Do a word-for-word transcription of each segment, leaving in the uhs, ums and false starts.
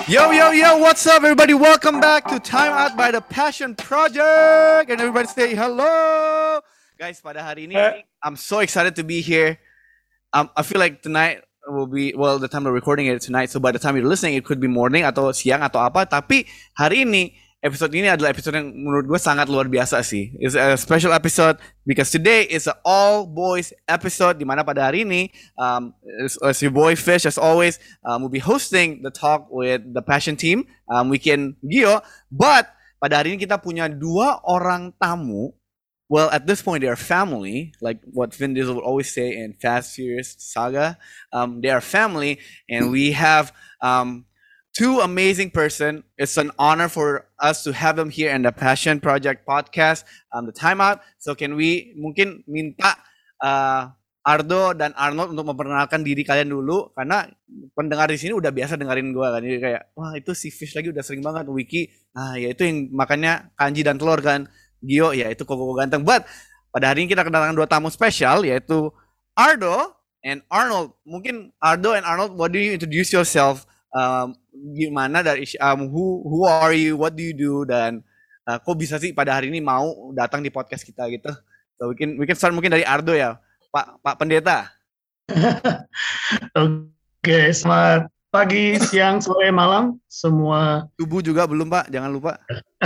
Yo, yo, yo, what's up, everybody? Welcome back to Time Out by the Passion Project. And everybody say hello. Guys, pada hari ini, I'm so excited to be here. Um, I feel like tonight will be, well, the time we're recording it tonight. So by the time you're listening, it could be morning atau siang atau apa. Tapi hari ini, episode ini adalah episode yang menurut gue sangat luar biasa sih. It's a special episode because today is an all boys episode. Dimana pada hari ini, um, as, as your boy Fish, as always, um, will be hosting the talk with the Passion team, um, Weekend Gio. But pada hari ini kita punya dua orang tamu. Well, at this point, they are family, like what Vin Diesel would always say in Fast Furious Saga. Um, they are family, and we have um, two amazing person. It's an honor for us to have them here in the Passion Project podcast, um, the Time Out. So can we mungkin minta uh, Ardo dan Arnold untuk memperkenalkan diri kalian dulu, karena pendengar di sini udah biasa dengerin gue kan, jadi kayak wah itu si Fish lagi udah sering banget, Wiki, ah ya itu yang makannya kanji dan telur kan. Gio, ya itu koko ganteng. But pada hari ini kita kedatangan dua tamu spesial, yaitu Ardo and Arnold. Mungkin Ardo and Arnold, what do you introduce yourself? Um, gimana dari um, who who are you? What do you do? Dan uh, kok bisa sih pada hari ini mau datang di podcast kita gitu? So we can we can start mungkin dari Ardo ya, Pak Pak Pendeta. Oke, okay, selamat pagi, siang, sore, malam semua. Subuh juga belum Pak, jangan lupa.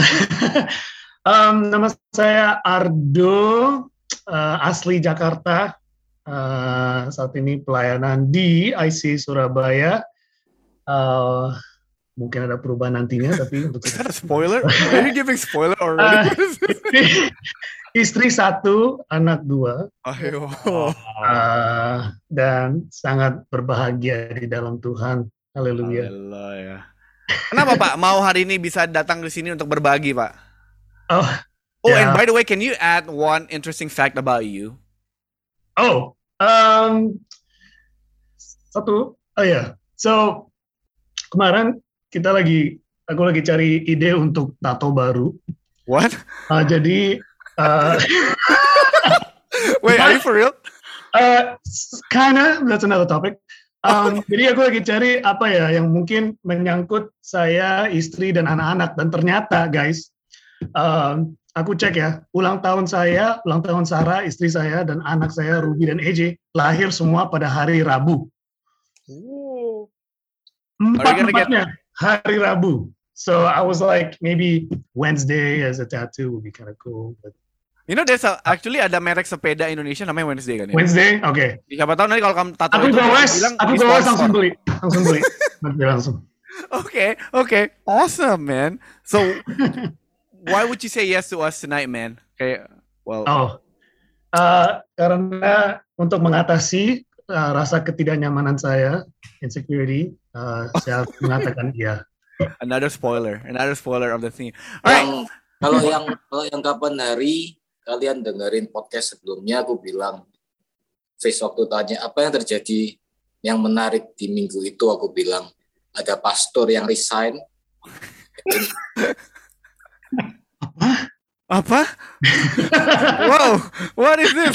Um, nama saya Ardo, uh, asli Jakarta. Uh, saat ini pelayanan di I C Surabaya. Uh, mungkin ada perubahan nantinya, tapi untuk is that a spoiler? Are you giving spoiler already? Uh, istri, istri satu, anak dua. Ayo. Uh, dan sangat berbahagia di dalam Tuhan. Haleluya. Haleluya. Kenapa Pak mau hari ini bisa datang ke sini untuk berbagi Pak? Oh, oh yeah. And by the way, can you add one interesting fact about you? Oh, um, satu, oh ya, yeah. So kemarin kita lagi, aku lagi cari ide untuk tato baru. What? Uh, jadi, uh, wait, are you for real? Uh, kinda, that's another topic. Um, jadi aku lagi cari apa ya yang mungkin menyangkut saya, istri dan anak-anak, dan ternyata guys. Um, aku cek ya, ulang tahun saya, ulang tahun Sarah, istri saya, dan anak saya, Ruby dan E J, lahir semua pada hari Rabu. Empat-empatnya hari Rabu. So I was like, maybe Wednesday as a tattoo would be kind of cool. But... You know, there's a, actually ada merek sepeda Indonesia namanya Wednesday kan ya? Wednesday, oke. Okay. Siapa tahu nanti kalau kamu tato aku itu, gowes, bilang, aku gowes langsung beli, langsung beli, langsung. Okay, okay, awesome man. So why would you say yes to us tonight, man? Okay, well. Oh, uh, karena untuk mengatasi uh, rasa ketidaknyamanan saya, insecurity, uh, saya mengatakan iya. Another spoiler, another spoiler of the thing. Alright. Kalau yang kalau yang kapan hari kalian dengerin podcast sebelumnya, aku bilang, Face waktu tanya apa yang terjadi yang menarik di minggu itu, aku bilang ada pastor yang resign. Apa? Wow, what is this?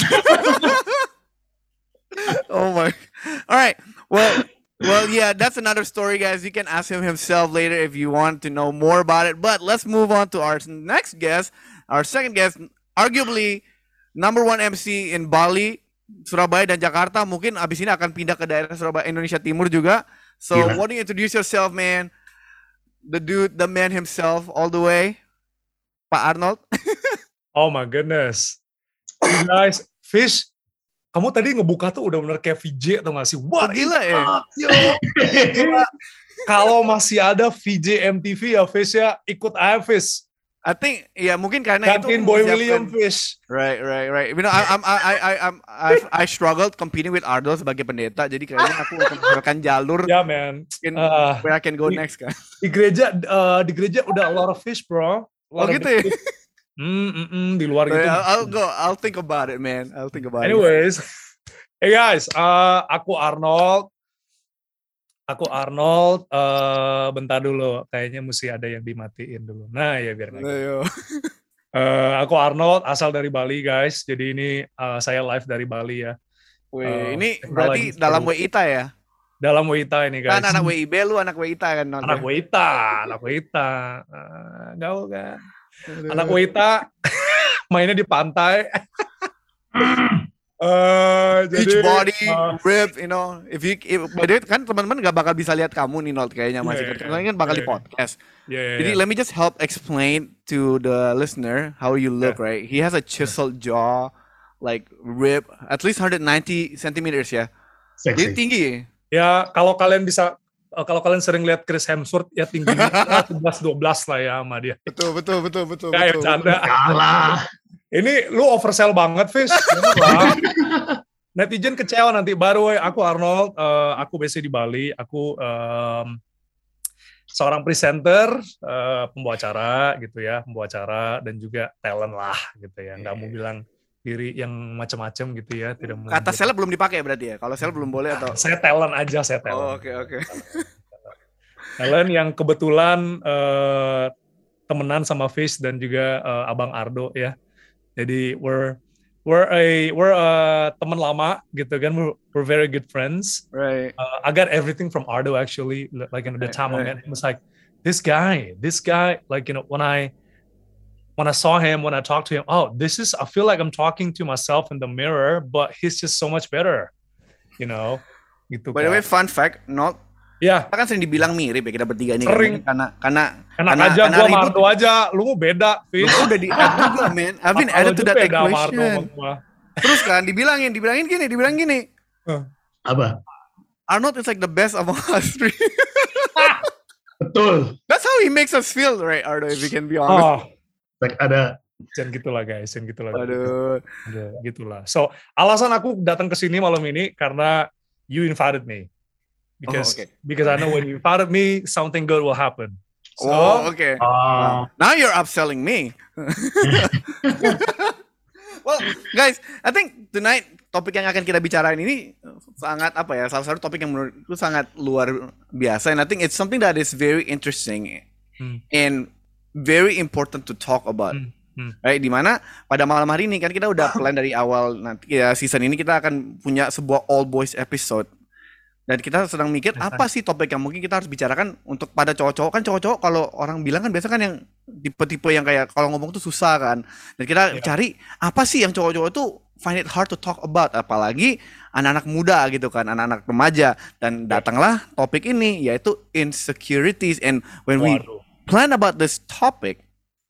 Oh my. All right. Well, well, yeah, that's another story, guys. You can ask him himself later if you want to know more about it. But let's move on to our next guest, our second guest, arguably number one M C in Bali, Surabaya dan Jakarta. Mungkin abis ini akan pindah ke daerah Surabaya, Indonesia Timur juga. So, yeah. Why don't you introduce yourself, man? The dude, the man himself, all the way. Pak Arnold. Oh my goodness. Hey guys, Fish, kamu tadi ngebuka tuh udah bener kayak V J atau gak sih? Wah, oh, gila ya. Kalau masih ada V J M T V ya Fish ya, ikut aja Fish. I think ya mungkin karena Gantiin itu Boy William Fish. Right, right, right. You know, I, I'm, I, I, I'm, I, I struggled competing with Ardo sebagai pendeta. Jadi kayaknya aku akan jalur. Ya yeah, man. Uh, where I can go di, next kan. Di gereja, uh, di gereja udah a lot of fish bro. Oh gitu ya. Hmm, mm, mm, di luar gitu. I'll, I'll go. I'll think about it, man. I'll think about Anyways, it. Anyways, hey guys, uh, aku Arnold. Aku Arnold, uh, bentar dulu, kayaknya mesti ada yang dimatiin dulu. Nah ya biar nggak gitu. Uh, aku Arnold, asal dari Bali guys, jadi ini uh, saya live dari Bali ya. Wih, uh, ini berarti dalam W I T A ya? dalam W I T A ini guys. Kan anak W I B, lu anak W I T A kan? Anak W I T A, anak W I T A. Uh, gaul kan. Anak W I T A mainnya di pantai. Uh, Beach jadi, body, uh, rib, you know. If you, if, by the way, kan teman-teman gak bakal bisa lihat kamu nih, Nold, kayaknya masih. Yeah, Karena yeah, kan bakal yeah, di podcast. Yeah, yeah, Jadi yeah. let me just help explain to the listener how you look, yeah. right? He has a chiseled yeah. jaw, like rib, at least one hundred ninety centimeters ya. Sexy. Jadi tinggi. Ya kalau kalian bisa, kalau kalian sering lihat Chris Hemsworth, ya tingginya sebelas dua belas lah ya sama dia. Betul, betul, betul, betul. Kayak canda. Kalah. Ini lu oversell banget, Fish. Netizen kecewa nanti. Baru aku Arnold, uh, aku biasa di Bali, aku um, seorang presenter, uh, pembawa acara gitu ya, pembawa acara dan juga talent lah gitu ya. Nggak mau bilang diri yang macam-macam gitu ya. Tidak mau. Kata seleb belum dipakai berarti ya? Kalau seleb belum boleh atau? Saya talent aja, saya talent. Oh, oke oke. Talent yang kebetulan uh, temenan sama Fish dan juga uh, Abang Ardo ya. Jadi we're we're a we're a teman lama gitu kan, we're, we're very good friends. Right. Uh, I got everything from Ardo actually. Like in the right, time right. I met him, it was like this guy, this guy. Like you know when I when I saw him, when I talked to him, oh, this is I feel like I'm talking to myself in the mirror, but he's just so much better. You know. Gitu. By the way, fun fact, not. Ya. Kita kan sering dibilang mirip ya kita bertiga ini. Sering. Kan? Karena karena enak karena, aja karena gua Mardo aja, lu beda, Fis. Lu udah di add juga, man. I've been added to that equation. Terus kan dibilangin, dibilangin gini, dibilang gini. Uh. Apa? Arnold is like the best among us three. Betul. That's how he makes us feel, right, Ardo? If we can be honest. Oh. Like ada. Jangan gitulah guys, jangan gitulah. Aduh. Gitu. Gitulah. So alasan aku datang ke sini malam ini karena you invited me. Because, oh, okay. because I know when you invited me, something good will happen. So, oh, okay. Uh, now you're upselling me. Well, guys, I think tonight topik yang akan kita bicarain ini sangat apa ya? Salah satu topik yang menurutku sangat luar biasa. And I think it's something that is very interesting hmm. and very important to talk about. Hmm. Hmm. Right, dimana pada malam hari ini kan kita udah plan dari awal nanti ya season ini kita akan punya sebuah all boys episode. Dan kita sedang mikir apa sih topik yang mungkin kita harus bicarakan untuk pada cowok-cowok. Kan cowok-cowok kalau orang bilang kan biasa kan yang tipe-tipe yang kayak kalau ngomong tuh susah kan. Dan kita yeah. cari apa sih yang cowok-cowok tuh find it hard to talk about. Apalagi anak-anak muda gitu kan, anak-anak remaja. Dan datanglah topik ini yaitu insecurities. And when we plan about this topic,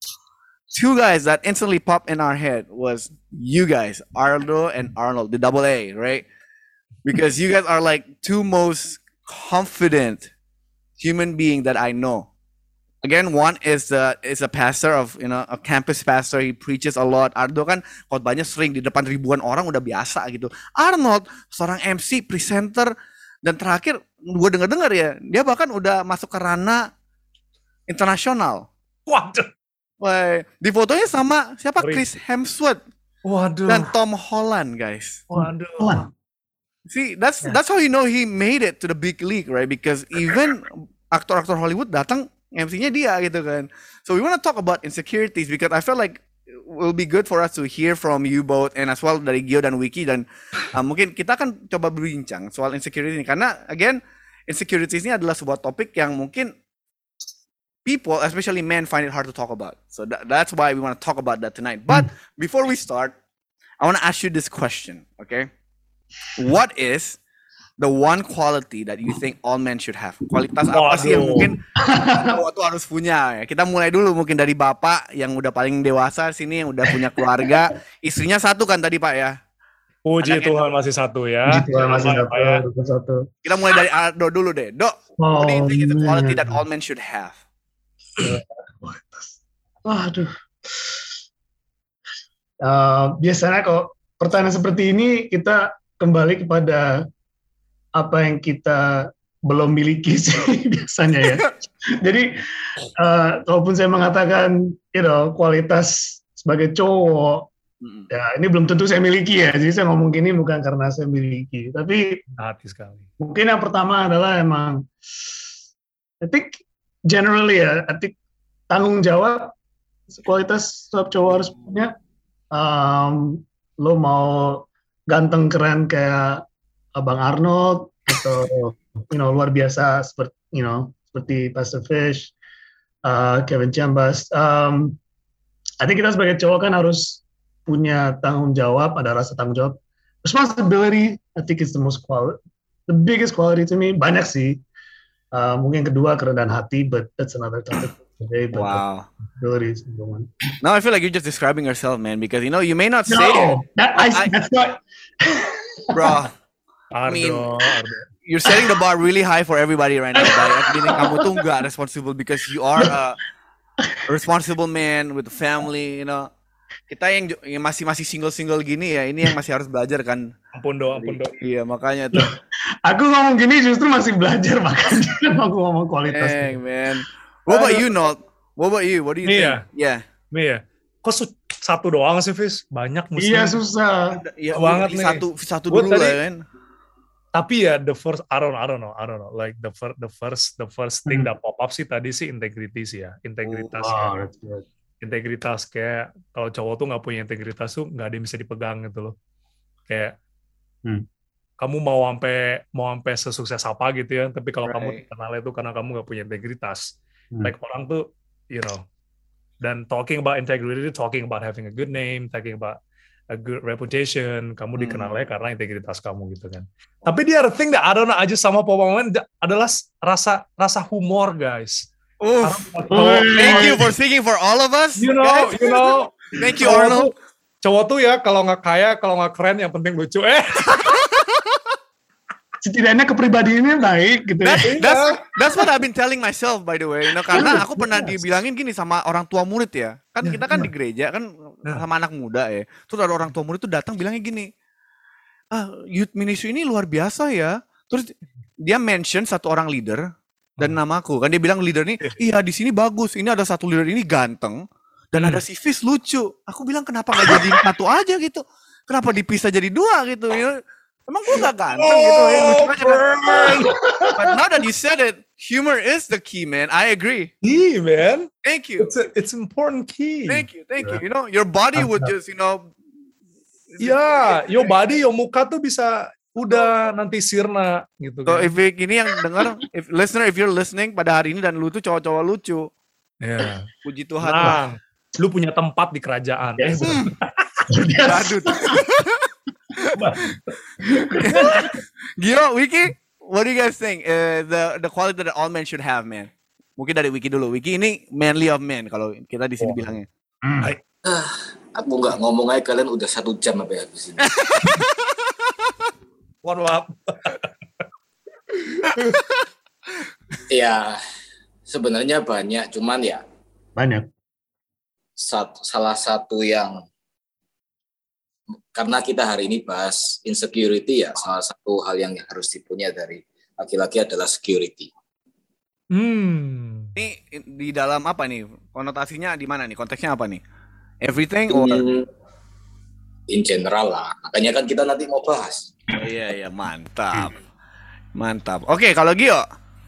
two guys that instantly popped in our head was you guys, Ardo and Arnold, the double A, right? Because you guys are like two most confident human being that I know. Again, one is the is a pastor of you know a campus pastor. He preaches a lot. Ardo kan khotbahnya sering di depan ribuan orang udah biasa gitu. Arnold seorang M C, presenter, dan terakhir gue dengar-dengar ya dia bahkan udah masuk ke ranah internasional. Waduh. Wah, di fotonya sama siapa? Chris Hemsworth. Waduh. Dan Tom Holland, guys. Waduh. See, that's that's how you know he made it to the big league, right? Because even aktor-aktor Hollywood datang M C-nya dia gitu kan. So we want to talk about insecurities because I feel like it will be good for us to hear from you both and as well dari Gio dan Wiki dan uh, mungkin kita akan coba berbincang soal insecurity ini karena again insecurities ini adalah sebuah topik yang mungkin people, especially men, find it hard to talk about. So that, that's why we want to talk about that tonight. But before we start, I want to ask you this question, okay? What is the one quality that you think all men should have? Kualitas apa sih yang mungkin cowok tuh harus punya? Ya, kita mulai dulu mungkin dari bapak yang udah paling dewasa sini, yang udah punya keluarga. Istrinya satu kan tadi Pak ya? Puji Tuhan masih satu ya. Puji Tuhan masih satu, ya. satu. Kita mulai dari Ardo dulu deh. Dok, oh, what do you think is the quality that all men should have? Waduh. Uh, biasanya kok pertanyaan seperti ini kita kembali kepada apa yang kita belum miliki sih biasanya ya. Jadi, uh, walaupun saya mengatakan, you know, kualitas sebagai cowok, mm-hmm. ya ini belum tentu saya miliki ya. Jadi saya ngomong gini bukan karena saya miliki, tapi hati sekali. Mungkin yang pertama adalah emang, I think generally ya, I think tanggung jawab kualitas setiap cowok harus punya. Um, lo mau ganteng keren kayak Abang Arnold, atau you know luar biasa seperti you know seperti Pastor Fish, uh, Kevin Chambers. Um, I think kita sebagai cowok kan harus punya tanggung jawab, ada rasa tanggung jawab. Responsibility, I think is the most quality, the biggest quality to me. Banyak sih. Uh, mungkin kedua kerendahan hati, but that's another topic today. But Wow. Responsibility is the one. Now I feel like you're just describing yourself, man, because you know you may not say No, it, that, I, I- that's not. bro. Ardo, mean- Ardo. You're setting the bar really high for everybody right now by admitting kamu tuh nggak responsible because you are a responsible man with a family, you know. Kita yang, ju- yang masih masih single single gini ya, ini yang masih harus belajar kan. Ampun do, ampun do. Iya makanya tuh. Aku ngomong gini justru masih belajar, makanya aku ngomong kualitas. Dang, man. What about you, Nolt? What about you? What do you Me think? ya? Yeah. Nih ya, kok su- satu doang sih, Fis? Banyak muslim. Iya susah. Ya, Banget pilih nih. satu satu Gua dulu tadi- lah kan. Tapi ya the first, I don't, I don't know, I don't know. Like the first, the first, the first thing Hmm. that pop up sih tadi sih integritas sih ya, integritas. Wow, ya. that's good. Integritas kayak kalau cowok tuh nggak punya integritas tuh nggak ada yang bisa dipegang gitu loh. Kayak Hmm. kamu mau sampai mau sampai sesukses apa gitu ya, tapi kalau kamu Right. terkenalnya tuh karena kamu nggak punya integritas. Hmm. Like orang tuh, you know, dan talking about integrity, talking about having a good name, talking about a good reputation, kamu Hmm. dikenalnya karena integritas kamu gitu kan. Tapi the other thing that I don't know aja sama pemain adalah rasa rasa humor, guys. Oof. Oh, Thank you for speaking for all of us. You know, guys. you know. Thank you, Cowok Arnold. tuh, cowok tuh ya kalau nggak kaya, kalau nggak keren, yang penting lucu. Eh, Setidaknya kepribadiannya baik gitu ya. That's, that's that's what I've been telling myself by the way. You know, karena aku pernah Yes. dibilangin gini sama orang tua murid ya. Kan Ya, kita kan ya. di gereja kan Ya. sama anak muda ya. Terus ada orang tua murid tuh datang bilangnya gini. Ah, youth ministry ini luar biasa ya. Terus dia mention satu orang leader dan Hmm. namaku. Kan dia bilang leader ini, iya di sini bagus. Ini ada satu leader ini ganteng dan Hmm. ada si Fis lucu. Aku bilang kenapa nggak jadi satu aja gitu? Kenapa dipisah jadi dua gitu? You know? Emang gue gak ganteng gitu ya, lucu aja kan? But now that you said it, humor is the key, man. I agree. key man, Thank you. it's a, it's important key. Thank you. Thank you. You know, your body would just, you know. Ya, yo body, yo muka tuh bisa udah nanti sirna gitu So kan. if you- ini yang dengar, if listener, if you're listening pada hari ini dan lu tuh cowok-cowok lucu, Ya. puji Tuhan lah. Nah, lu punya tempat di kerajaan. Yes. Eh, Yes. Badut. Gio, Wiki, what do you guys think? Uh, the the quality that all men should have, man. Mungkin dari Wiki dulu. Wiki ini manly of men kalau kita di sini Oh. bilangnya. Hmm. Aku nggak ngomong aja kalian udah satu jam sampai habis ini. Mohon maaf. Ya, sebenarnya banyak, cuman ya Banyak. satu, salah satu yang karena kita hari ini bahas insecurity ya, salah satu hal yang harus dipunya dari laki-laki adalah security. Hmm. Ini di dalam apa nih? Konotasinya di mana nih? Konteksnya apa nih? Everything or In, in general lah, makanya kan kita nanti mau bahas. oh, iya iya mantap. Mantap. Oke, kalau Gio.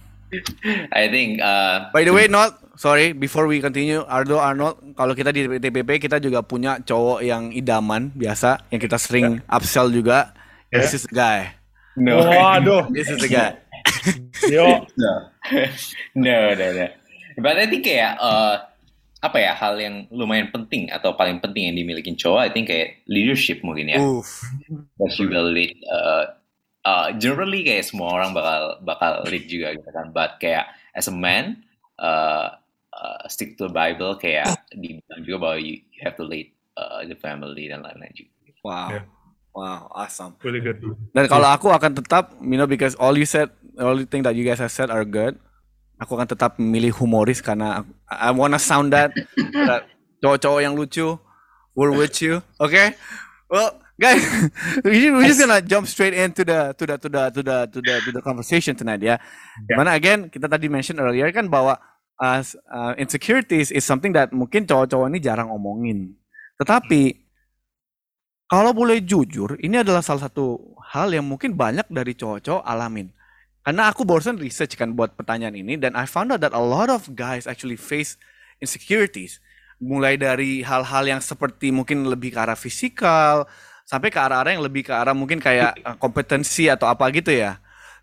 I think uh, By the way, not sorry, before we continue, Ardo Arnold, kalau kita di T P P kita juga punya cowok yang idaman biasa, yang kita sering upsell juga. Yeah. This is the guy. no, Waduh. This is the guy. Yo. no, no, no, no. But I think kayak uh, apa ya hal yang lumayan penting atau paling penting yang dimiliki cowok, I think kayak leadership mungkin ya. Oof. That you will lead. Uh, uh, generally kayak semua orang bakal bakal lead juga gitu kan. But kayak as a man, uh, uh, stick to the Bible kayak dibilang juga bahwa you, you have to lead uh, the family dan lain-lain juga. Wow. Yeah. Wow, awesome. Really good. Dan kalau aku akan tetap, you know, because all you said, all the thing that you guys have said are good. Aku akan tetap memilih humoris karena I wanna sound that, that cowok-cowok yang lucu, we're with you, okay? Well, guys, we we're just gonna jump straight into the to the to the to the to the to the conversation tonight ya. Dimana again kita tadi mention earlier kan bahwa uh, uh, insecurities is something that mungkin cowok-cowok ini jarang omongin. Tetapi kalau boleh jujur, ini adalah salah satu hal yang mungkin banyak dari cowok-cowok alamin. Karena aku barusan research kan buat pertanyaan ini, dan I found out that a lot of guys actually face insecurities. Mulai dari hal-hal yang seperti mungkin lebih ke arah fisikal, sampai ke arah-arah yang lebih ke arah mungkin kayak uh, kompetensi atau apa gitu ya.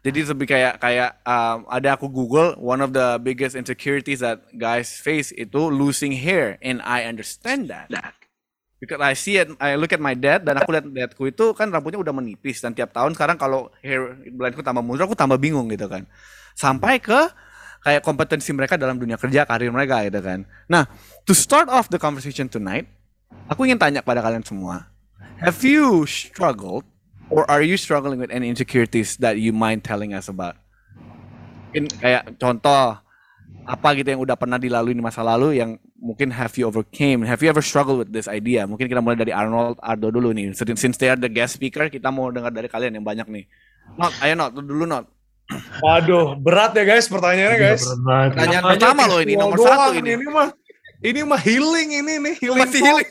Jadi lebih kayak kayak um, ada aku Google one of the biggest insecurities that guys face itu losing hair, and I understand that. Because I see it, I look at my dad dan aku lihat dadku itu kan rambutnya udah menipis dan tiap tahun sekarang kalau hair blendku tambah mundur aku tambah bingung gitu kan. Sampai ke kayak kompetensi mereka dalam dunia kerja, karir mereka gitu kan. Nah, to start off the conversation tonight, aku ingin tanya kepada kalian semua. Have you struggled or are you struggling with any insecurities that you mind telling us about? Mungkin kayak contoh apa gitu yang udah pernah dilalui di masa lalu yang mungkin have you overcame? Have you ever struggled with this idea? Mungkin kita mulai dari Arnold, Ardo dulu nih. Since they are the guest speaker, kita mau dengar dari kalian yang banyak nih. Not, ayo Not, dulu Not. Waduh, berat ya guys pertanyaannya guys. Pertanyaan pertama loh ini, nomor satu ini. Ini mah, ini mah healing ini nih, healing. Masih healing.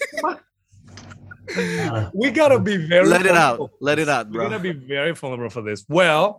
We gotta be very let it out, let it out, bro. We gotta be very vulnerable for this. Well,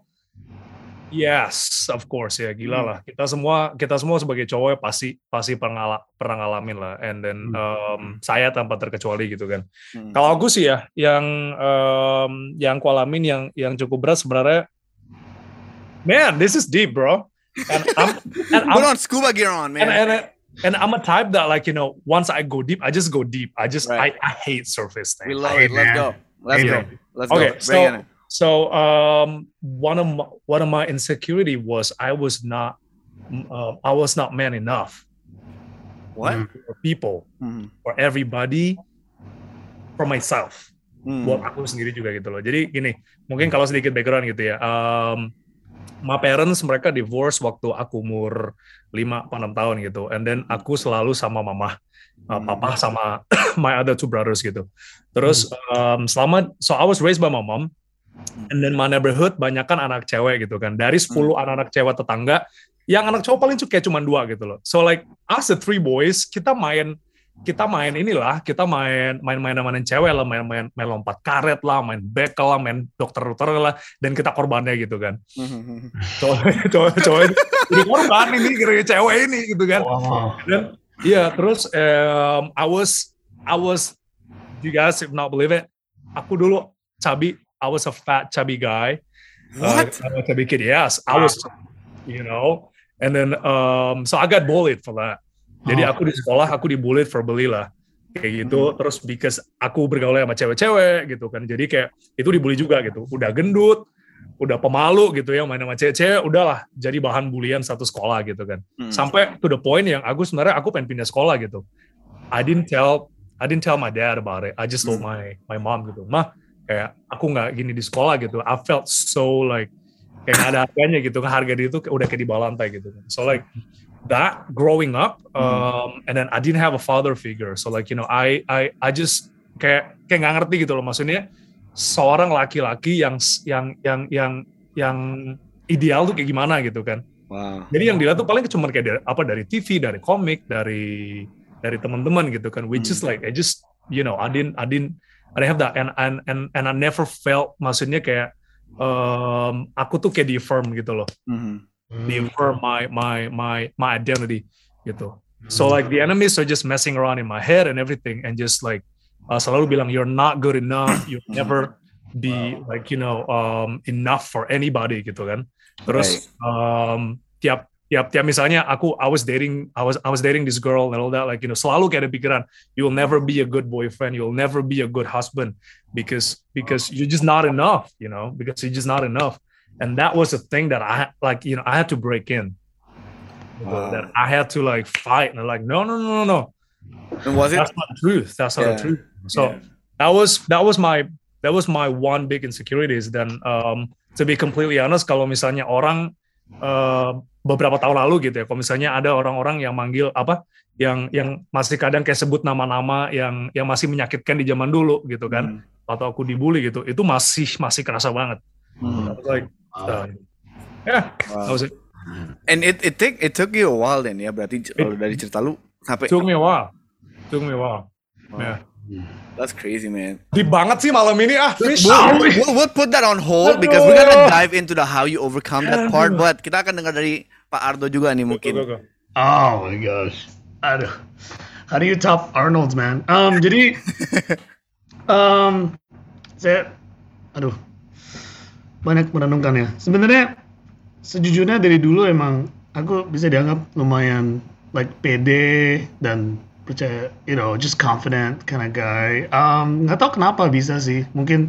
yes, of course ya, gila lah. Kita semua, kita semua sebagai cowok pasti pasti pernah pernah ngalamin lah. And then um, saya tanpa terkecuali gitu kan. Hmm. Kalau aku sih ya, yang um, yang aku alamin yang yang cukup berat sebenarnya. Man, this is deep, bro. And I'm, and I'm put on scuba gear on, man. And, and, And I'm a type that, like, you know, once I go deep, I just go deep. I just, right. I, I hate surface things. We love it. Let's go. Let's yeah. go. Let's okay, go. So, so um, one of my, one of my insecurity was I was not, uh, I was not man enough. What? For people, mm-hmm. for everybody, for myself. Mm. Buat aku sendiri juga gitu loh. Jadi gini, mungkin kalau sedikit background gitu ya. Um, My parents mereka divorce waktu aku umur lima atau enam tahun gitu. And then aku selalu sama mama, uh, papa sama my other two brothers gitu. Terus um, selama, so I was raised by my mom. And then my neighborhood banyak kan anak cewek gitu kan. Dari sepuluh anak-anak cewek tetangga, yang anak cowok paling kayak cuma dua gitu loh. So like us the three boys, kita main kita main inilah, kita main main-main main cewek lah, main-main main lompat karet lah, main bekel lah, main dokter-dokter lah, dan kita korbannya gitu kan. Cowok-cowok jadi korban ini gara-gara cewek ini gitu kan. Wow. Dan iya, terus um, I was I was you guys if not believe it, aku dulu chubby, I was a fat chubby guy. What? Uh, I was a chubby kid. Yes, I was, you know. And then um, so I got bullied for that. Jadi aku di sekolah, aku dibully verbally lah. Kayak gitu, hmm. terus because aku bergaul sama cewek-cewek gitu kan. Jadi kayak, itu dibully juga gitu. Udah gendut, udah pemalu gitu ya, main sama cewek-cewek, udahlah jadi bahan bulian satu sekolah gitu kan. Hmm. Sampai to the point yang aku sebenarnya, aku pengen pindah sekolah gitu. I didn't tell, I didn't tell my dad about it. I just told my my mom gitu. Mah, kayak aku nggak gini di sekolah gitu. I felt so like, kayak gak ada harganya gitu kan. Harga diri itu udah kayak di bawah lantai gitu kan. So like, that growing up, um, and then I didn't have a father figure, so like you know, I I I just kayak kayak nggak ngerti gitu loh, maksudnya seorang laki-laki yang yang yang yang yang ideal tuh kayak gimana gitu kan. Wow. Jadi yang dilihat tuh paling cuma kayak dari, apa dari T V, dari komik, dari dari teman-teman gitu kan. Which is like I just you know I didn't I didn't I didn't have that, and and and and I never felt, maksudnya kayak um, aku tuh kayak di-affirm gitu loh. Mm-hmm. Affirm my my my my identity gitu. So like the enemies are just messing around in my head and everything, and just like uh, selalu bilang you're not good enough, you'll never be like you know um, enough for anybody gitu kan. Terus um, tiap tiap tiap misalnya aku I was dating I was I was dating this girl and all that, like you know selalu kayak ada pikiran you'll never be a good boyfriend, you'll never be a good husband because because you're just not enough, you know, because you're just not enough. And that was a thing that I like, you know, I had to break in. Wow. That I had to like fight, and like, no, no, no, no, no. And was it? That's not the truth. That's not yeah. the truth. So yeah. that was that was my that was my one big insecurities. Then um, to be completely honest, kalau misalnya orang uh, beberapa tahun lalu gitu ya, kalau misalnya ada orang-orang yang manggil apa, yang yang masih kadang kayak sebut nama-nama yang yang masih menyakitkan di zaman dulu gitu kan, hmm. atau aku dibully gitu, itu masih masih kerasa banget. Hmm. I was like, Uh, yeah, wow. That was it. And it it take it took you a while then ya, berarti kalau dari cerita lu sampai took me a while, took me a while. Wow. Yeah, that's crazy, man. Deep banget sih malam ini ah. We'll, we'll, we'll put that on hold because we're gonna dive into the how you overcome that part. But kita akan dengar dari Pak Ardo juga nih mungkin. Go, go, go. Oh my gosh, aduh, how do you top Arnold's, man? Um, jadi, um, saya, aduh. Banyak merenungkan ya. Sebenarnya sejujurnya dari dulu emang aku bisa dianggap lumayan like pede dan percaya, you know, just confident kind of guy. Um, nggak tahu kenapa bisa sih, mungkin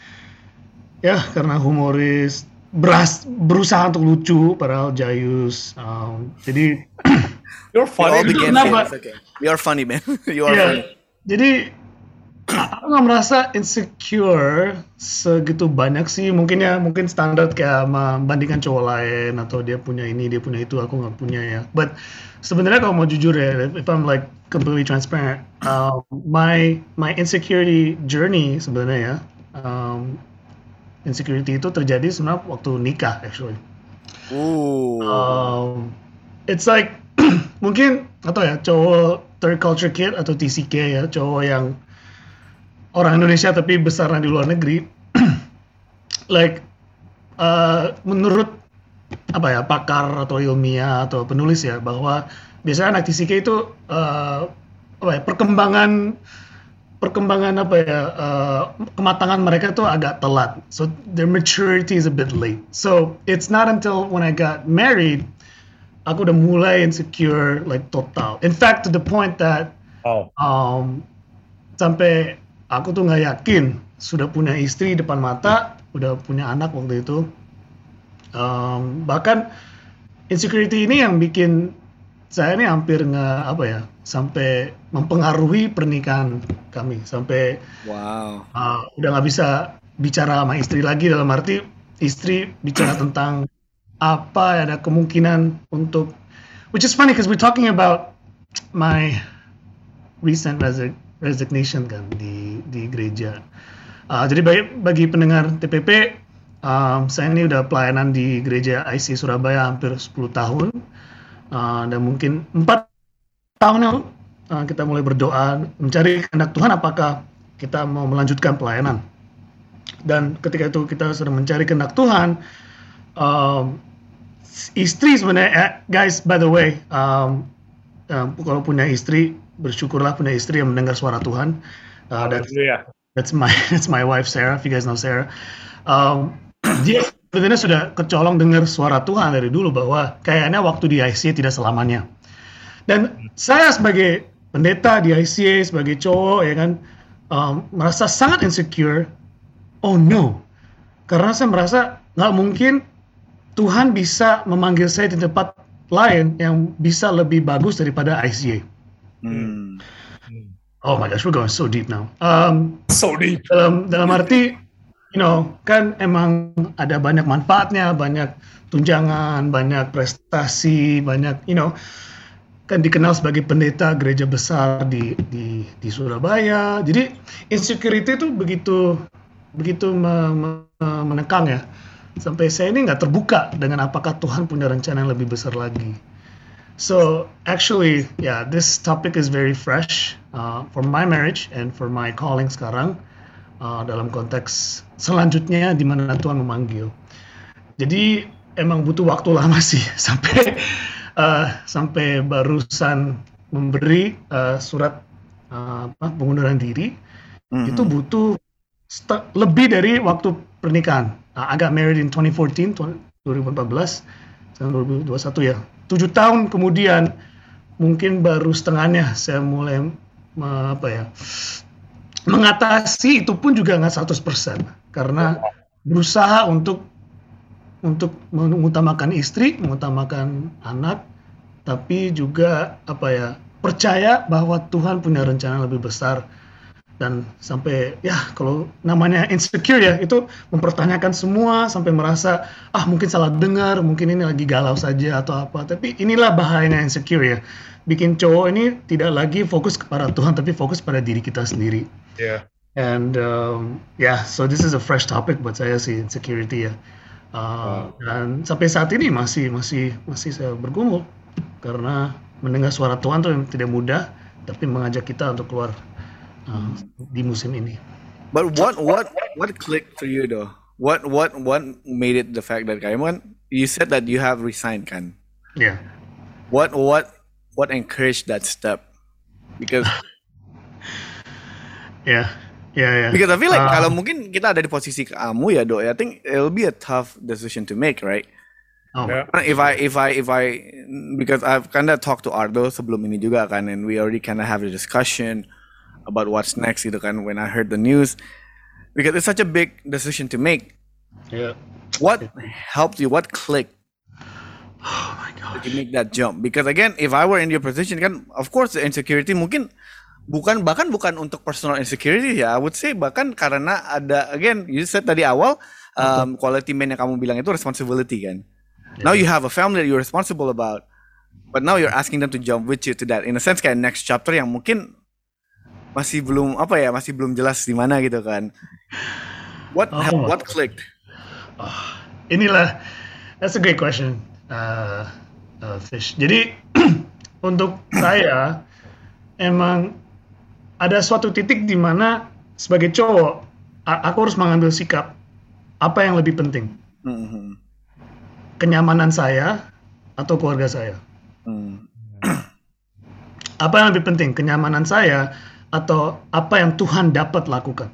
ya karena humoris, beras, berusaha untuk lucu, padahal jayus. Um, jadi You're We all funny. begin Kenapa? here. It's okay. You are funny, man. You are Iya, funny. jadi aku nggak merasa insecure segitu banyak sih. Mungkin ya, mungkin standar kayak membandingkan cowok lain atau dia punya ini, dia punya itu, aku nggak punya ya. But sebenarnya kalau mau jujur ya, if I'm like completely transparent, um, my my insecurity journey sebenarnya ya, um, insecurity itu terjadi sebenarnya waktu nikah actually. Ooh. Um, it's like mungkin atau ya cowok third culture kid atau T C K ya, cowok yang orang Indonesia tapi besarnya di luar negeri. Like uh, menurut apa ya pakar atau ilmiah atau penulis ya, bahwa biasanya anak T C K itu uh, apa ya perkembangan perkembangan apa ya uh, kematangan mereka tuh agak telat, so their maturity is a bit late. So it's not until when I got married aku udah mulai insecure like total. In fact to the point that Oh. um, sampai aku tuh nggak yakin sudah punya istri depan mata, udah punya anak waktu itu. Um, bahkan insecurity ini yang bikin saya ini hampir nggak apa ya sampai mempengaruhi pernikahan kami, sampai Wow. uh, udah nggak bisa bicara sama istri lagi, dalam arti istri bicara tentang apa ada kemungkinan untuk, which is funny because we're talking about my recent resi- resignation kan di di gereja. Uh, jadi bagi, bagi pendengar T P P, um, saya ini udah pelayanan di gereja I C Surabaya hampir sepuluh tahun, uh, dan mungkin empat tahun yang lalu uh, kita mulai berdoa mencari kehendak Tuhan apakah kita mau melanjutkan pelayanan. Dan ketika itu kita sedang mencari kehendak Tuhan, um, istri sebenarnya, eh, guys by the way, um, um, kalau punya istri bersyukurlah punya istri yang mendengar suara Tuhan. Uh, that's, Haleluya. that's my that's my wife Sarah. If you guys know Sarah, um, dia sebenarnya sudah kecolong dengar suara Tuhan dari dulu bahwa kayaknya waktu di I C A tidak selamanya. Dan saya sebagai pendeta di I C A, sebagai cowok ya kan, um, merasa sangat insecure. Oh no, karena saya merasa nggak mungkin Tuhan bisa memanggil saya di tempat lain yang bisa lebih bagus daripada I C A. Hmm. Oh my gosh, we're going so deep now. Um, So deep. dalam dalam arti, you know, kan emang ada banyak manfaatnya, banyak tunjangan, banyak prestasi, banyak, you know, kan dikenal sebagai pendeta gereja besar di di di Surabaya. Jadi insecurity itu begitu begitu me, me, menekang ya. Sampai saya ini nggak terbuka dengan apakah Tuhan punya rencana yang lebih besar lagi. So actually, yeah, this topic is very fresh uh, for my marriage and for my calling sekarang, uh, dalam konteks selanjutnya di mana Tuhan memanggil. Jadi emang butuh waktu lama sih sampai uh, sampai barusan memberi uh, surat uh, apa, pengunduran diri. Mm-hmm. Itu butuh st- lebih dari waktu pernikahan. Uh, I got married in twenty fourteen, dua ribu empat belas, sekarang dua ribu dua puluh satu ya. Tujuh tahun kemudian, mungkin baru setengahnya saya mulai me, apa ya, mengatasi itu pun juga nggak seratus persen. Karena berusaha untuk untuk mengutamakan istri, mengutamakan anak, tapi juga apa ya, percaya bahwa Tuhan punya rencana lebih besar. Dan sampai ya kalau namanya insecure ya, itu mempertanyakan semua sampai merasa ah mungkin salah dengar, mungkin ini lagi galau saja atau apa. Tapi inilah bahayanya insecure ya, bikin cowok ini tidak lagi fokus kepada Tuhan tapi fokus pada diri kita sendiri. Yeah. And um, yeah, so this is a fresh topic buat saya sih, insecurity ya. Uh, wow. Dan sampai saat ini masih masih masih saya bergumul karena mendengar suara Tuhan tuh tidak mudah, tapi mengajak kita untuk keluar uh, di musim ini. But what what what clicked for you though? What what what made it the fact that kayak you said that you have resigned kan? Yeah. What what what encouraged that step? Because yeah. Yeah, yeah. Because I feel like uh, kalau mungkin kita ada di posisi kamu ya, Dok, I think it'll be a tough decision to make, right? Oh. Yeah. If I if I if I because I've kind of talked to Ardo sebelum ini juga kan, and we already kind of have a discussion about what's next gitu kan when I heard the news, because it's such a big decision to make. Yeah. What helped you? What clicked? Oh my gosh. To make that jump? Because again, if I were in your position kan, of course the insecurity mungkin bukan bahkan bukan untuk personal insecurity ya. I would say bahkan karena ada again you said tadi awal um, quality man yang kamu bilang itu responsibility kan. Yeah. Now you have a family that you're responsible about, but now you're asking them to jump with you to that. In a sense kayak next chapter yang mungkin masih belum apa ya masih belum jelas di mana gitu kan. What Oh. have, what clicked? Oh, inilah, that's a great question, uh, uh, Fish. Jadi untuk saya emang ada suatu titik di mana sebagai cowok a- aku harus mengambil sikap apa yang lebih penting, Mm-hmm. kenyamanan saya atau keluarga saya. Mm. Apa yang lebih penting, kenyamanan saya atau apa yang Tuhan dapat lakukan.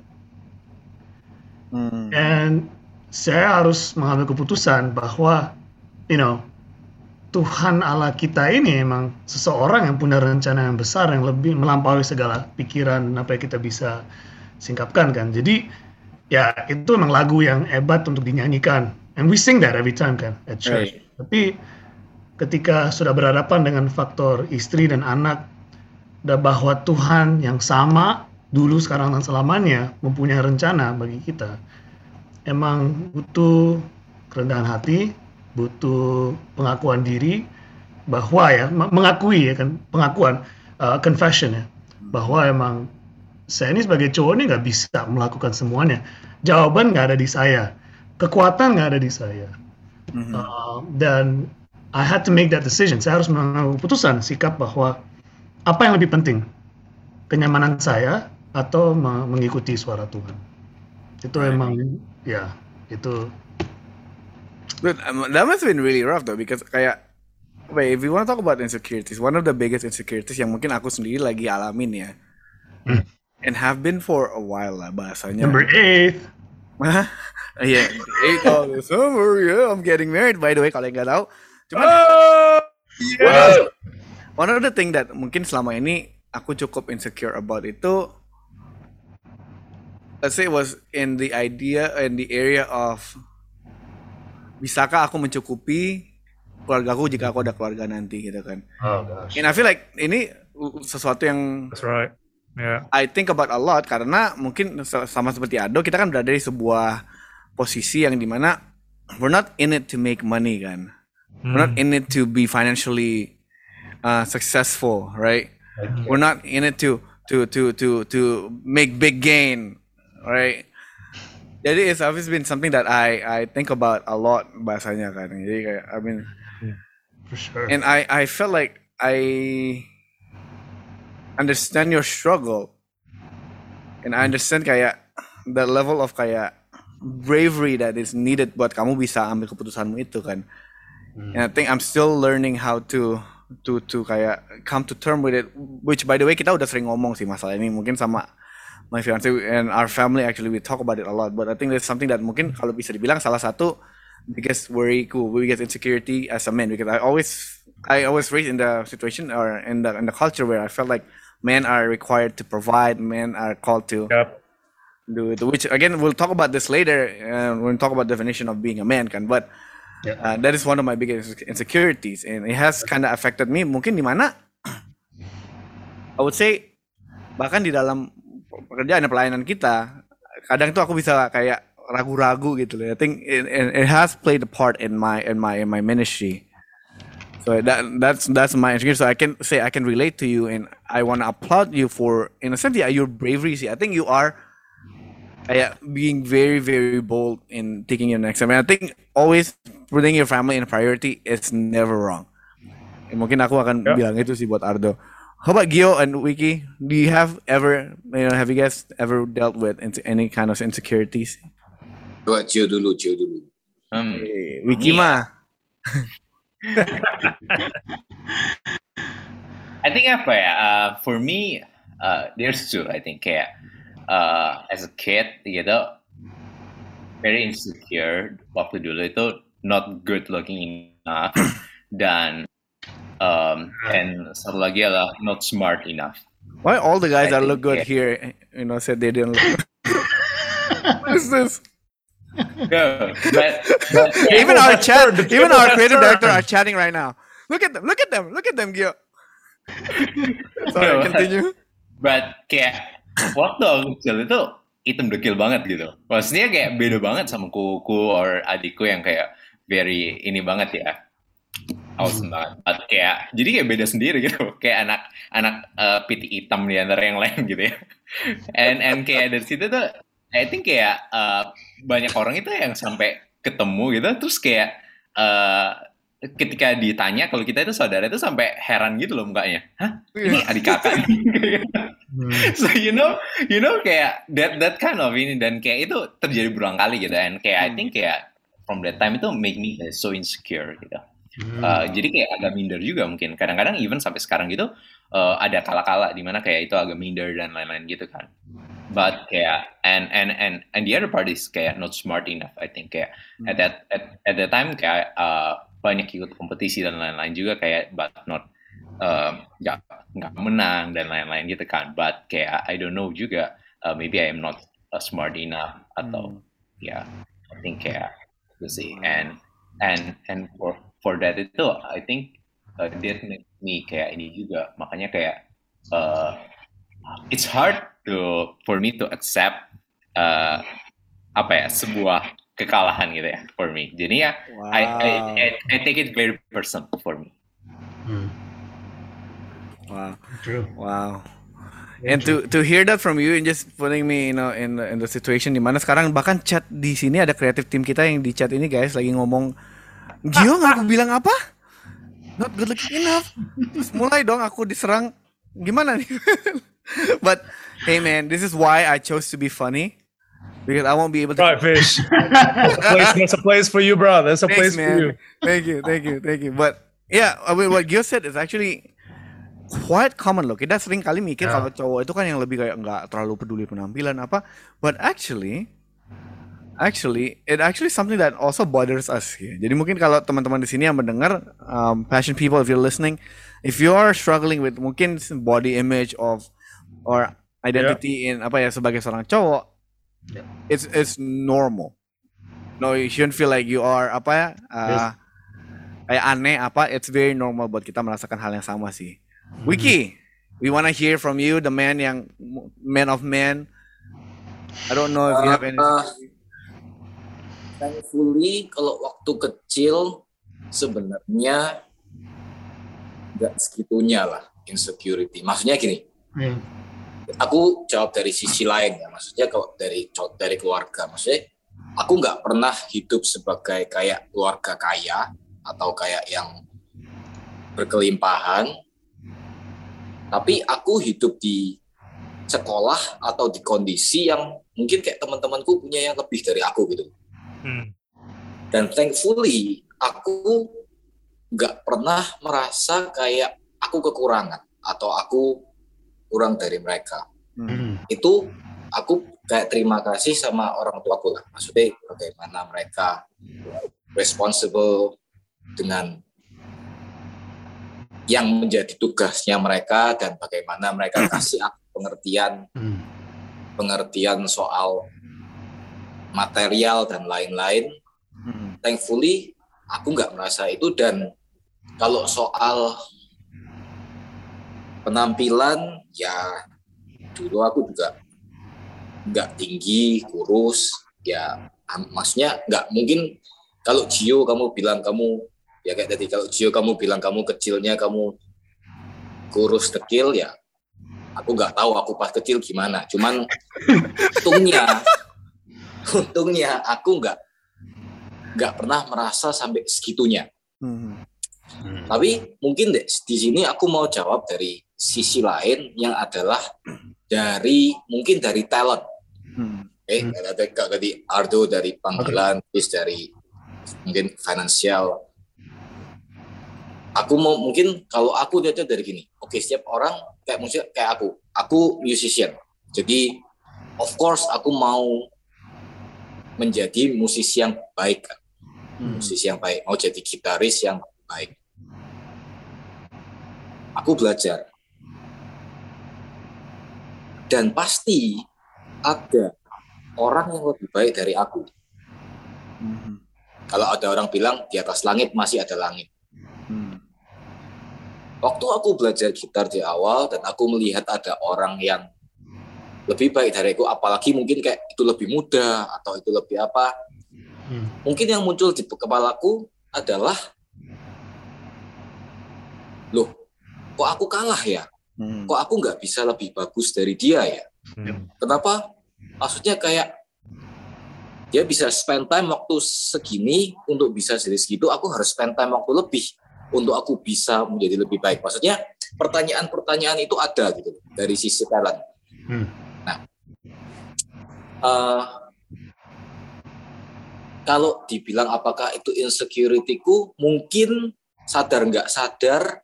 Mm. And saya harus mengambil keputusan bahwa, you know, Tuhan Allah kita ini emang seseorang yang punya rencana yang besar yang lebih melampaui segala pikiran apa yang kita bisa singkapkan kan. Jadi ya itu emang lagu yang hebat untuk dinyanyikan. And we sing that every time kan at church. Right. Tapi ketika sudah berhadapan dengan faktor istri dan anak, dan bahwa Tuhan yang sama dulu sekarang dan selamanya mempunyai rencana bagi kita, emang butuh kerendahan hati, butuh pengakuan diri bahwa ya mengakui ya kan pengakuan uh, confession ya bahwa emang saya ini sebagai cowok ini nggak bisa melakukan semuanya. Jawaban nggak ada di saya, kekuatan nggak ada di saya, Mhm. uh, dan I had to make that decision. Saya harus mengambil keputusan sikap bahwa apa yang lebih penting, kenyamanan saya atau me- mengikuti suara Tuhan. Itu emang ya itu. But um, that must have been really rough though, because kayak, wait, if you want to talk about insecurities, one of the biggest insecurities yang mungkin aku sendiri lagi alamin ya, Hmm. and have been for a while lah bahasanya. Number eight. Yeah, eight of the summer, yeah, I'm getting married by the way kalau yang nggak tahu. Cuman Oh, one, one of the thing that mungkin selama ini aku cukup insecure about itu, let's say was in the idea in the area of bisakah aku mencukupi keluargaku jika aku ada keluarga nanti gitu kan. Oh gosh. And I feel like ini sesuatu yang that's right. Yeah. I think about a lot karena mungkin se- sama seperti Ado kita kan berada di sebuah posisi yang dimana we're not in it to make money kan. We're not in it to be financially uh, successful, right? We're not in it to to to to to make big gain, right? Jadi it's always been something that I I think about a lot bahasanya kan. Jadi kayak I mean, For sure. and I I felt like I understand your struggle, and I understand kayak the level of kayak bravery that is needed buat kamu bisa ambil keputusanmu itu kan. And I think I'm still learning how to to to kayak come to term with it. Which by the way kita udah sering ngomong sih masalah ini mungkin sama my fiance and our family, actually we talk about it a lot. But I think that's something that mungkin kalau bisa dibilang salah satu biggest worryku, biggest insecurity as a man, because I always I always raised in the situation or in the in the culture where I felt like men are required to provide, men are called to Yep. do it. Which again we'll talk about this later uh, when we talk about definition of being a man kan. But Yeah. uh, that is one of my biggest insecurities, and it has kind of affected me. Mungkin di mana I would say bahkan di dalam pekerjaan dan pelayanan kita, kadang tuh aku bisa kayak ragu-ragu gitu loh. I think it, it, it has played a part in my in my in my ministry. So that that's that's my insecurity. So I can say I can relate to you, and I want to applaud you for, in a sense, yeah, your bravery. See, I think you are uh, being very very bold in taking your next step. And I think always putting your family in priority is never wrong. Eh, mungkin aku akan Yeah. bilang itu sih buat Ardo. How about Gio and Wiki? Do you have ever, you know, have you guys ever dealt with into any kind of insecurities? Coba Gio dulu, Gio dulu. Hmm. Eh, Wiki Iya. mah. I think apa ya? Uh, for me, uh, there's two. I think kayak uh, as a kid, gitu, very insecure waktu dulu itu, not good looking enough, dan um, and satu lagi adalah not smart enough. Why all the guys I that look think, good yeah. here, you know, said they didn't look? What is this? No, but, but yeah, Even our chat, The even triple our has creative turned. director are chatting right now. Look at them! Look at them! Look at them, Gio. Sorry, No, continue. but kayak waktu aku kecil itu hitam dekil banget gitu. Maksudnya kayak beda banget sama kuku or adikku yang kayak very ini banget ya. Awesome banget. But kayak jadi kayak beda sendiri gitu. Kayak anak anak uh, piti hitam di antara yang lain gitu ya. And and kayak dari situ tuh I think kayak uh, banyak orang itu yang sampai ketemu gitu terus kayak uh, ketika ditanya kalau kita itu saudara itu sampai heran gitu loh mukanya. Hah? Ini adik kakak. So you know, you know kayak that that kind of ini dan kayak itu terjadi berulang kali gitu and kayak I think kayak from that time itu make me so insecure gitu. Uh, jadi kayak agak minder juga mungkin. Kadang-kadang even sampai sekarang gitu uh, ada kala-kala di mana kayak itu agak minder dan lain-lain gitu kan. But kayak and and and and the other part is kayak not smart enough I think kayak hmm. at that at, at that time kayak uh, banyak ikut kompetisi dan lain-lain juga kayak but not nggak uh, nggak menang dan lain-lain gitu kan. But kayak I don't know juga uh, maybe I am not uh, smart enough atau hmm. ya yeah, I think kayak you see and and and for for that itu I think uh, that make me kayak ini juga makanya kayak uh, it's hard to for me to accept uh, apa ya sebuah kekalahan gitu ya for me. Jadi ya wow. I, I I I take it very personal for me. Hmm. Wow, true. Wow. And to to hear that from you and just putting me you know in the, in the situation di mana sekarang bahkan chat di sini ada kreatif tim kita yang di chat ini guys lagi ngomong Gio nggak aku bilang apa? Not good looking enough. Terus mulai dong aku diserang gimana nih? But hey man, this is why I chose to be funny because I won't be able to. Right, fish. That's, that's a place for you, bro. That's a Thanks, place man. for you. Thank you, thank you, thank you. But yeah, I mean, what Gio said is actually quite common loh. Kita sering kali mikir yeah. kalau cowok itu kan yang lebih kayak nggak terlalu peduli penampilan apa. But actually, actually, it actually something that also bothers us here. Jadi mungkin kalau teman-teman di sini yang mendengar, um, passion people, if you're listening, if you are struggling with mungkin body image of or identity yeah. in apa ya sebagai seorang cowok, yeah. it's it's normal. No, you shouldn't feel like you are apa ya uh, kayak aneh apa. It's very normal buat kita merasakan hal yang sama sih. Mm-hmm. Wiki, we wanna hear from you, the man yang man of men. I don't know if you have any. Uh, thankfully, kalau waktu kecil sebenarnya nggak segitunya lah insecurity. Maksudnya gini. Hmm. Aku jawab dari sisi lain ya, maksudnya kalau dari dari keluarga, maksudnya aku nggak pernah hidup sebagai kayak keluarga kaya atau kayak yang berkelimpahan, tapi aku hidup di sekolah atau di kondisi yang mungkin kayak teman-temanku punya yang lebih dari aku gitu. Hmm. Dan thankfully aku nggak pernah merasa kayak aku kekurangan atau aku kurang dari mereka. Hmm. Itu aku kayak terima kasih sama orang tuaku lah. Maksudnya bagaimana mereka responsible dengan yang menjadi tugasnya mereka dan bagaimana mereka kasih aku pengertian hmm. pengertian soal material dan lain-lain. Hmm. Thankfully aku nggak merasa itu. Dan kalau soal penampilan, ya dulu aku juga nggak tinggi, kurus, ya maksudnya nggak mungkin. Kalau Gio kamu bilang kamu, ya kayak tadi, kalau Gio kamu bilang kamu kecilnya kamu kurus dekil, ya aku nggak tahu aku pas kecil gimana. Cuman untungnya, untungnya aku nggak nggak pernah merasa sampai segitunya. Hmm. Hmm. Tapi mungkin deh di sini aku mau jawab dari sisi lain yang adalah dari mungkin dari talent. Hmm. Eh, hmm. Tadi Ardo dari panggilan, okay. dari mungkin finansial. Aku mau mungkin kalau aku lihatnya dari gini. Oke, okay, setiap orang kayak musik kayak aku. Aku musician. Jadi of course aku mau menjadi musisi yang baik kan. hmm. musisi yang baik, mau jadi gitaris yang baik. Aku belajar. Dan pasti ada orang yang lebih baik dari aku. Hmm. Kalau ada orang bilang di atas langit masih ada langit. Hmm. Waktu aku belajar gitar di awal dan aku melihat ada orang yang lebih baik dari aku, apalagi mungkin kayak itu lebih muda atau itu lebih apa. Hmm. Mungkin yang muncul di kepalaku adalah, loh, kok aku kalah ya? Hmm. Kok aku nggak bisa lebih bagus dari dia ya? Hmm. Kenapa? Maksudnya kayak dia bisa spend time waktu segini untuk bisa jadi segitu, aku harus spend time waktu lebih untuk aku bisa menjadi lebih baik. Maksudnya pertanyaan-pertanyaan itu ada gitu dari sisi talent. Hmm. Nah, uh, kalau dibilang apakah itu insecurity-ku, mungkin sadar nggak sadar,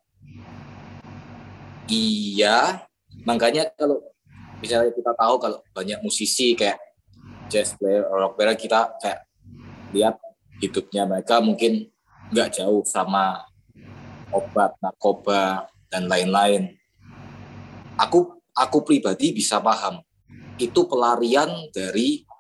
iya. Makanya kalau misalnya kita tahu kalau banyak musisi kayak jazz player, rock player, kita kayak lihat hidupnya mereka mungkin nggak jauh sama obat, narkoba, dan lain-lain. Aku aku pribadi bisa paham itu pelarian dari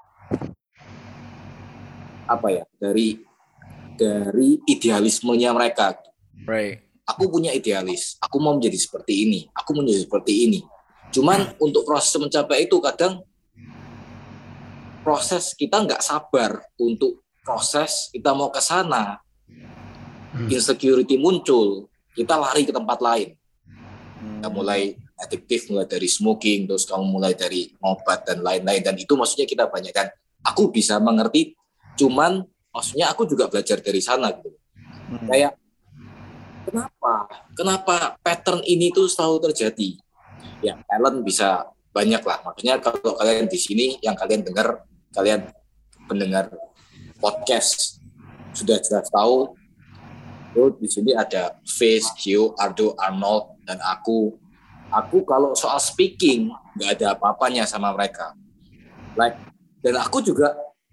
apa ya, dari dari idealismenya mereka. Right. Aku punya idealis, aku mau menjadi seperti ini, aku mau menjadi seperti ini. Cuman untuk proses mencapai itu kadang proses kita nggak sabar untuk proses kita mau ke sana, insecurity muncul, kita lari ke tempat lain. Kita mulai adiktif, mulai dari smoking, terus kamu mulai dari obat dan lain-lain, dan itu maksudnya kita banyak, dan aku bisa mengerti, cuman maksudnya aku juga belajar dari sana gitu. Hmm. Kayak kenapa, kenapa pattern ini tuh selalu terjadi? Ya talent bisa banyak lah, maksudnya kalau kalian di sini yang kalian dengar, kalian pendengar podcast sudah jelas tahu, oh, di sini ada Face, Q, Ardo, Arnold, dan aku. Aku kalau soal speaking nggak ada apa-apanya sama mereka. Like, dan aku juga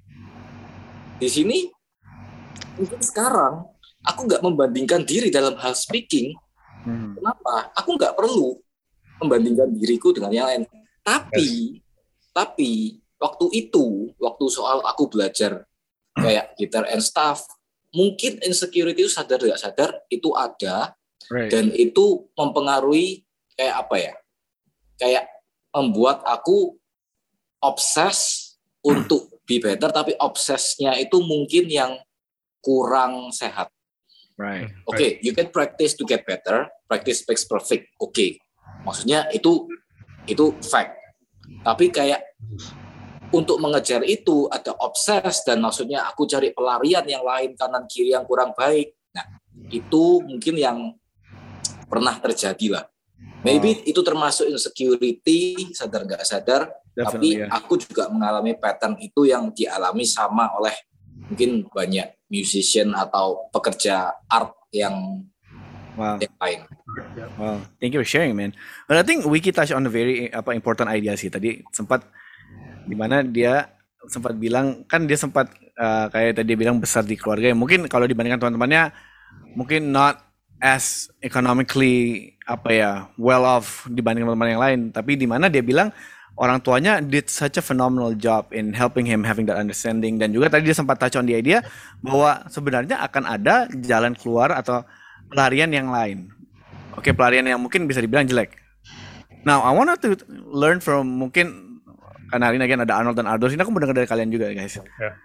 di sini mungkin sekarang aku nggak membandingkan diri dalam hal speaking. Hmm. Kenapa? Aku nggak perlu membandingkan diriku dengan yang lain. Tapi, yes. tapi waktu itu, waktu soal aku belajar kayak gitar and stuff, mungkin insecurity itu sadar nggak sadar itu ada, right. Dan itu mempengaruhi kayak apa ya? Kayak membuat aku obses untuk be better, tapi obsesnya itu mungkin yang kurang sehat. Right. Oke, okay, you can practice to get better, practice makes perfect. Oke, okay. Maksudnya itu itu fact. Tapi kayak untuk mengejar itu ada obses, dan maksudnya aku cari pelarian yang lain kanan kiri yang kurang baik. Nah, itu mungkin yang pernah terjadi lah. Maybe wow. Itu termasuk insecurity, sadar nggak sadar. Definitely, tapi yeah. Aku juga mengalami pattern itu yang dialami sama oleh mungkin banyak musician atau pekerja art yang wow. yang lain. Wow, thank you for sharing, man. But I think Wiki touch on a very apa important idea sih. Tadi sempat di mana dia sempat bilang, kan dia sempat uh, kayak tadi dia bilang besar di keluarga yang mungkin kalau dibandingkan teman-temannya mungkin not as economically apa ya well off dibanding teman-teman yang lain, tapi di mana dia bilang orang tuanya did such a phenomenal job in helping him having that understanding, dan juga tadi dia sempat touch on the idea bahwa sebenarnya akan ada jalan keluar atau pelarian yang lain. Oke, okay, pelarian yang mungkin bisa dibilang jelek. Now I want to learn from mungkin karena hari ini again ada Arnold dan Ardo, ini aku mendengar dari kalian juga guys. Yeah.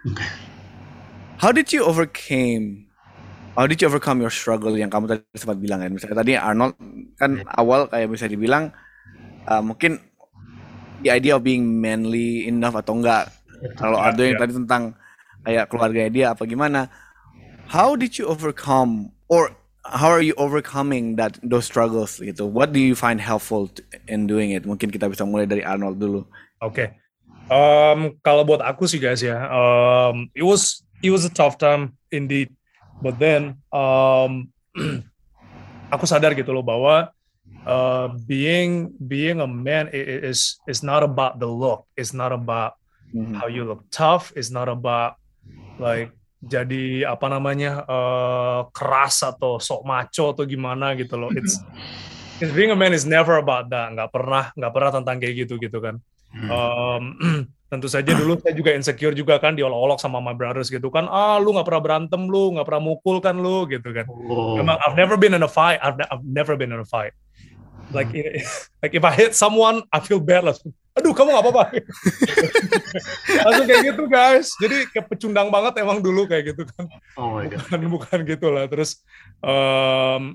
How did you overcame How did you overcome your struggle yang kamu tadi sempat bilang kan? Misalnya tadi Arnold kan awal kayak bisa dibilang uh, mungkin the idea of being manly enough atau enggak. Kalau yeah, Ardo yang yeah. tadi tentang kayak keluarganya dia apa gimana. How did you overcome or how are you overcoming that those struggles gitu? What do you find helpful in doing it? Mungkin kita bisa mulai dari Arnold dulu. Oke. Okay. Um, kalau buat aku sih guys ya, um, it was it was a tough time indeed. But then um, aku sadar gitu loh bahwa uh, being being a man is is not about the look. It's not about mm-hmm. how you look tough. It's not about like jadi apa namanya uh, keras atau sok maco atau gimana gitu loh. It's, it's being a man is never about that. Nggak pernah nggak pernah tentang kayak gitu gitu kan. Um, tentu saja dulu saya juga insecure juga kan, diolok-olok sama my brothers gitu kan, ah lu nggak pernah berantem, lu nggak pernah mukul kan lu gitu kan. Oh. Memang I've never been in a fight, I've, I've never been in a fight. Like like if I hit someone, I feel bad lah. Aduh kamu nggak apa-apa. Langsung kayak gitu guys. Jadi kayak pecundang banget emang dulu kayak gitu kan. Oh my God. Bukan bukan gitu lah. Terus um,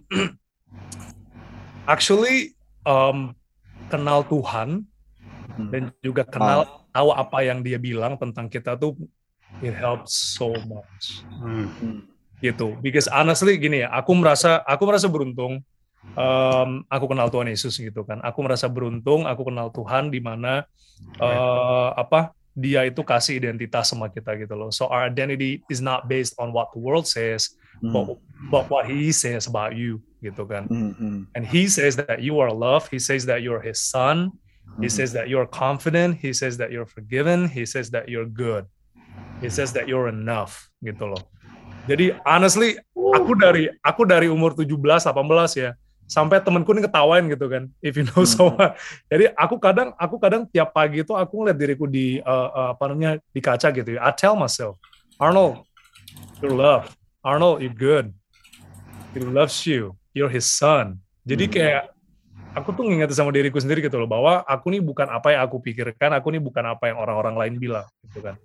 actually um, kenal Tuhan dan juga kenal oh. tahu apa yang dia bilang tentang kita tuh, it helps so much. Hmm. Gitu. Because honestly gini ya, aku merasa aku merasa beruntung. Um, aku kenal Tuhan Yesus gitu kan. Aku merasa beruntung. Aku kenal Tuhan di mana uh, apa dia itu kasih identitas sama kita gitu loh. So our identity is not based on what the world says, hmm. but, but what He says about you gitu kan. Hmm. And He says that you are loved. He says that you're His son. He says that you're confident. He says that you're forgiven. He says that you're good. He says that you're enough gitu loh. Jadi honestly, aku dari aku dari umur tujuh belas delapan belas ya, sampai temanku ini ketawain gitu kan, if you know someone. Jadi aku kadang aku kadang tiap pagi itu aku ngeliat diriku di uh, uh, apa namanya di kaca gitu ya. I tell myself, Arnold, you're loved. Arnold, you're good. He loves you. You're His son. Jadi kayak aku tuh ngingetin sama diriku sendiri gitu loh, bahwa aku nih bukan apa yang aku pikirkan, aku nih bukan apa yang orang-orang lain bilang gitu kan.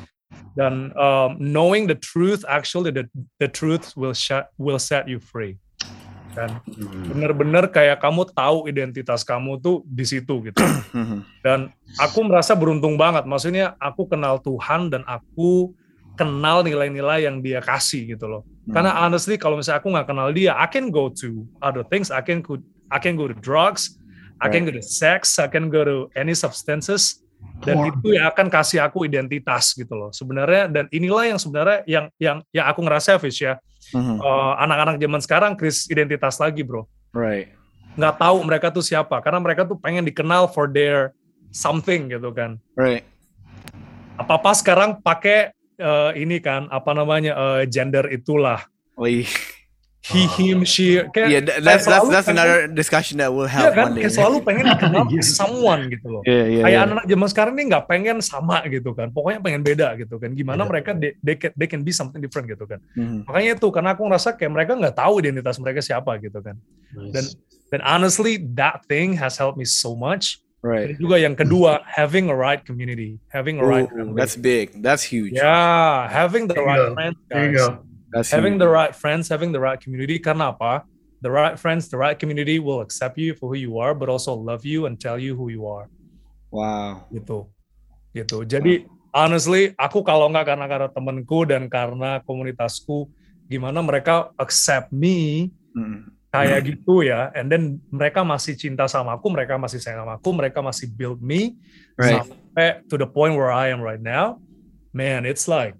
Dan um, knowing the truth, actually the the truth will set will set you free. Kan bener-bener kayak kamu tahu identitas kamu tuh di situ gitu. Dan aku merasa beruntung banget, maksudnya aku kenal Tuhan dan aku kenal nilai-nilai yang Dia kasih gitu loh. Karena honestly kalau misalnya aku nggak kenal Dia, I can go to other things, I can I can go to drugs, I can go to sex, I can go to any substances, dan itu yang akan kasih aku identitas gitu loh sebenarnya. Dan inilah yang sebenarnya yang yang yang aku ngerasa, Fish ya, mm-hmm. uh, anak-anak zaman sekarang krisis identitas lagi bro. Right. Nggak tahu mereka tuh siapa, karena mereka tuh pengen dikenal for their something gitu kan. Right. Apa-apa sekarang pakai uh, ini kan apa namanya uh, gender itulah. Oh, iya. He, him, she. Kayak, yeah, that's that's that's pengen, another discussion that we'll have yeah, kan? one day. Kayak selalu pengen dikenal someone gitu loh. Yeah, yeah, kayak yeah. anak-anak zaman sekarang ini nggak pengen sama gitu kan. Pokoknya pengen beda gitu kan. Gimana yeah. mereka they, they, can, they can be something different gitu kan. Mm-hmm. Makanya itu karena aku ngerasa kayak mereka nggak tahu identitas mereka siapa gitu kan. Nice. Dan dan honestly that thing has helped me so much. Right. Dan juga yang kedua, having a right community, having a right. Ooh, that's big. That's huge. Yeah, having the there right go. friends, guys. There you go. That's having huge. the right friends, having the right community. Karena apa? The right friends, the right community will accept you for who you are, but also love you and tell you who you are. Wow. Gitu, gitu. Jadi wow. honestly, aku kalau nggak karena karena temanku dan karena komunitasku, gimana mereka accept me mm. kayak gitu ya, and then mereka masih cinta sama aku, mereka masih sayang sama aku, mereka masih build me right. sampai to the point where I am right now. Man, it's like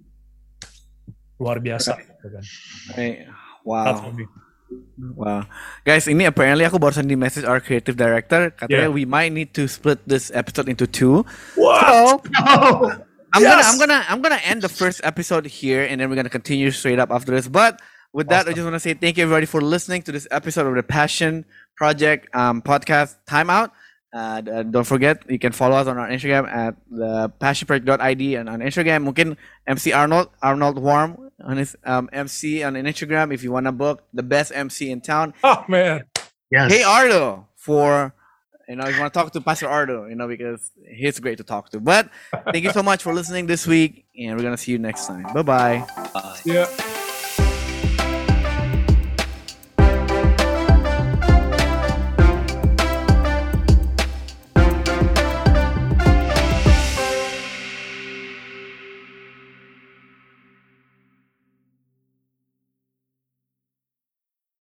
luar biasa. Right. Wow. Wow. Guys, ini apparently aku barusan di message our creative director. Katanya yeah. we might need to split this episode into two. What? So, no. I'm yes. gonna I'm gonna I'm gonna end the first episode here, and then we're gonna continue straight up after this. But with that, awesome. I just want to say thank you everybody for listening to this episode of the Passion Project um, podcast Time Out. Uh, don't forget, you can follow us on our Instagram at the passion project dot I D, and on Instagram, mungkin M C Arnold, Arnold Warm on his um, M C on Instagram if you want to book the best M C in town. Oh man, yes. Hey Ardo, for you know, if you want to talk to Pastor Ardo, you know, because he's great to talk to. But thank you so much for listening this week, and we're gonna see you next time. Bye bye. Bye. Yeah.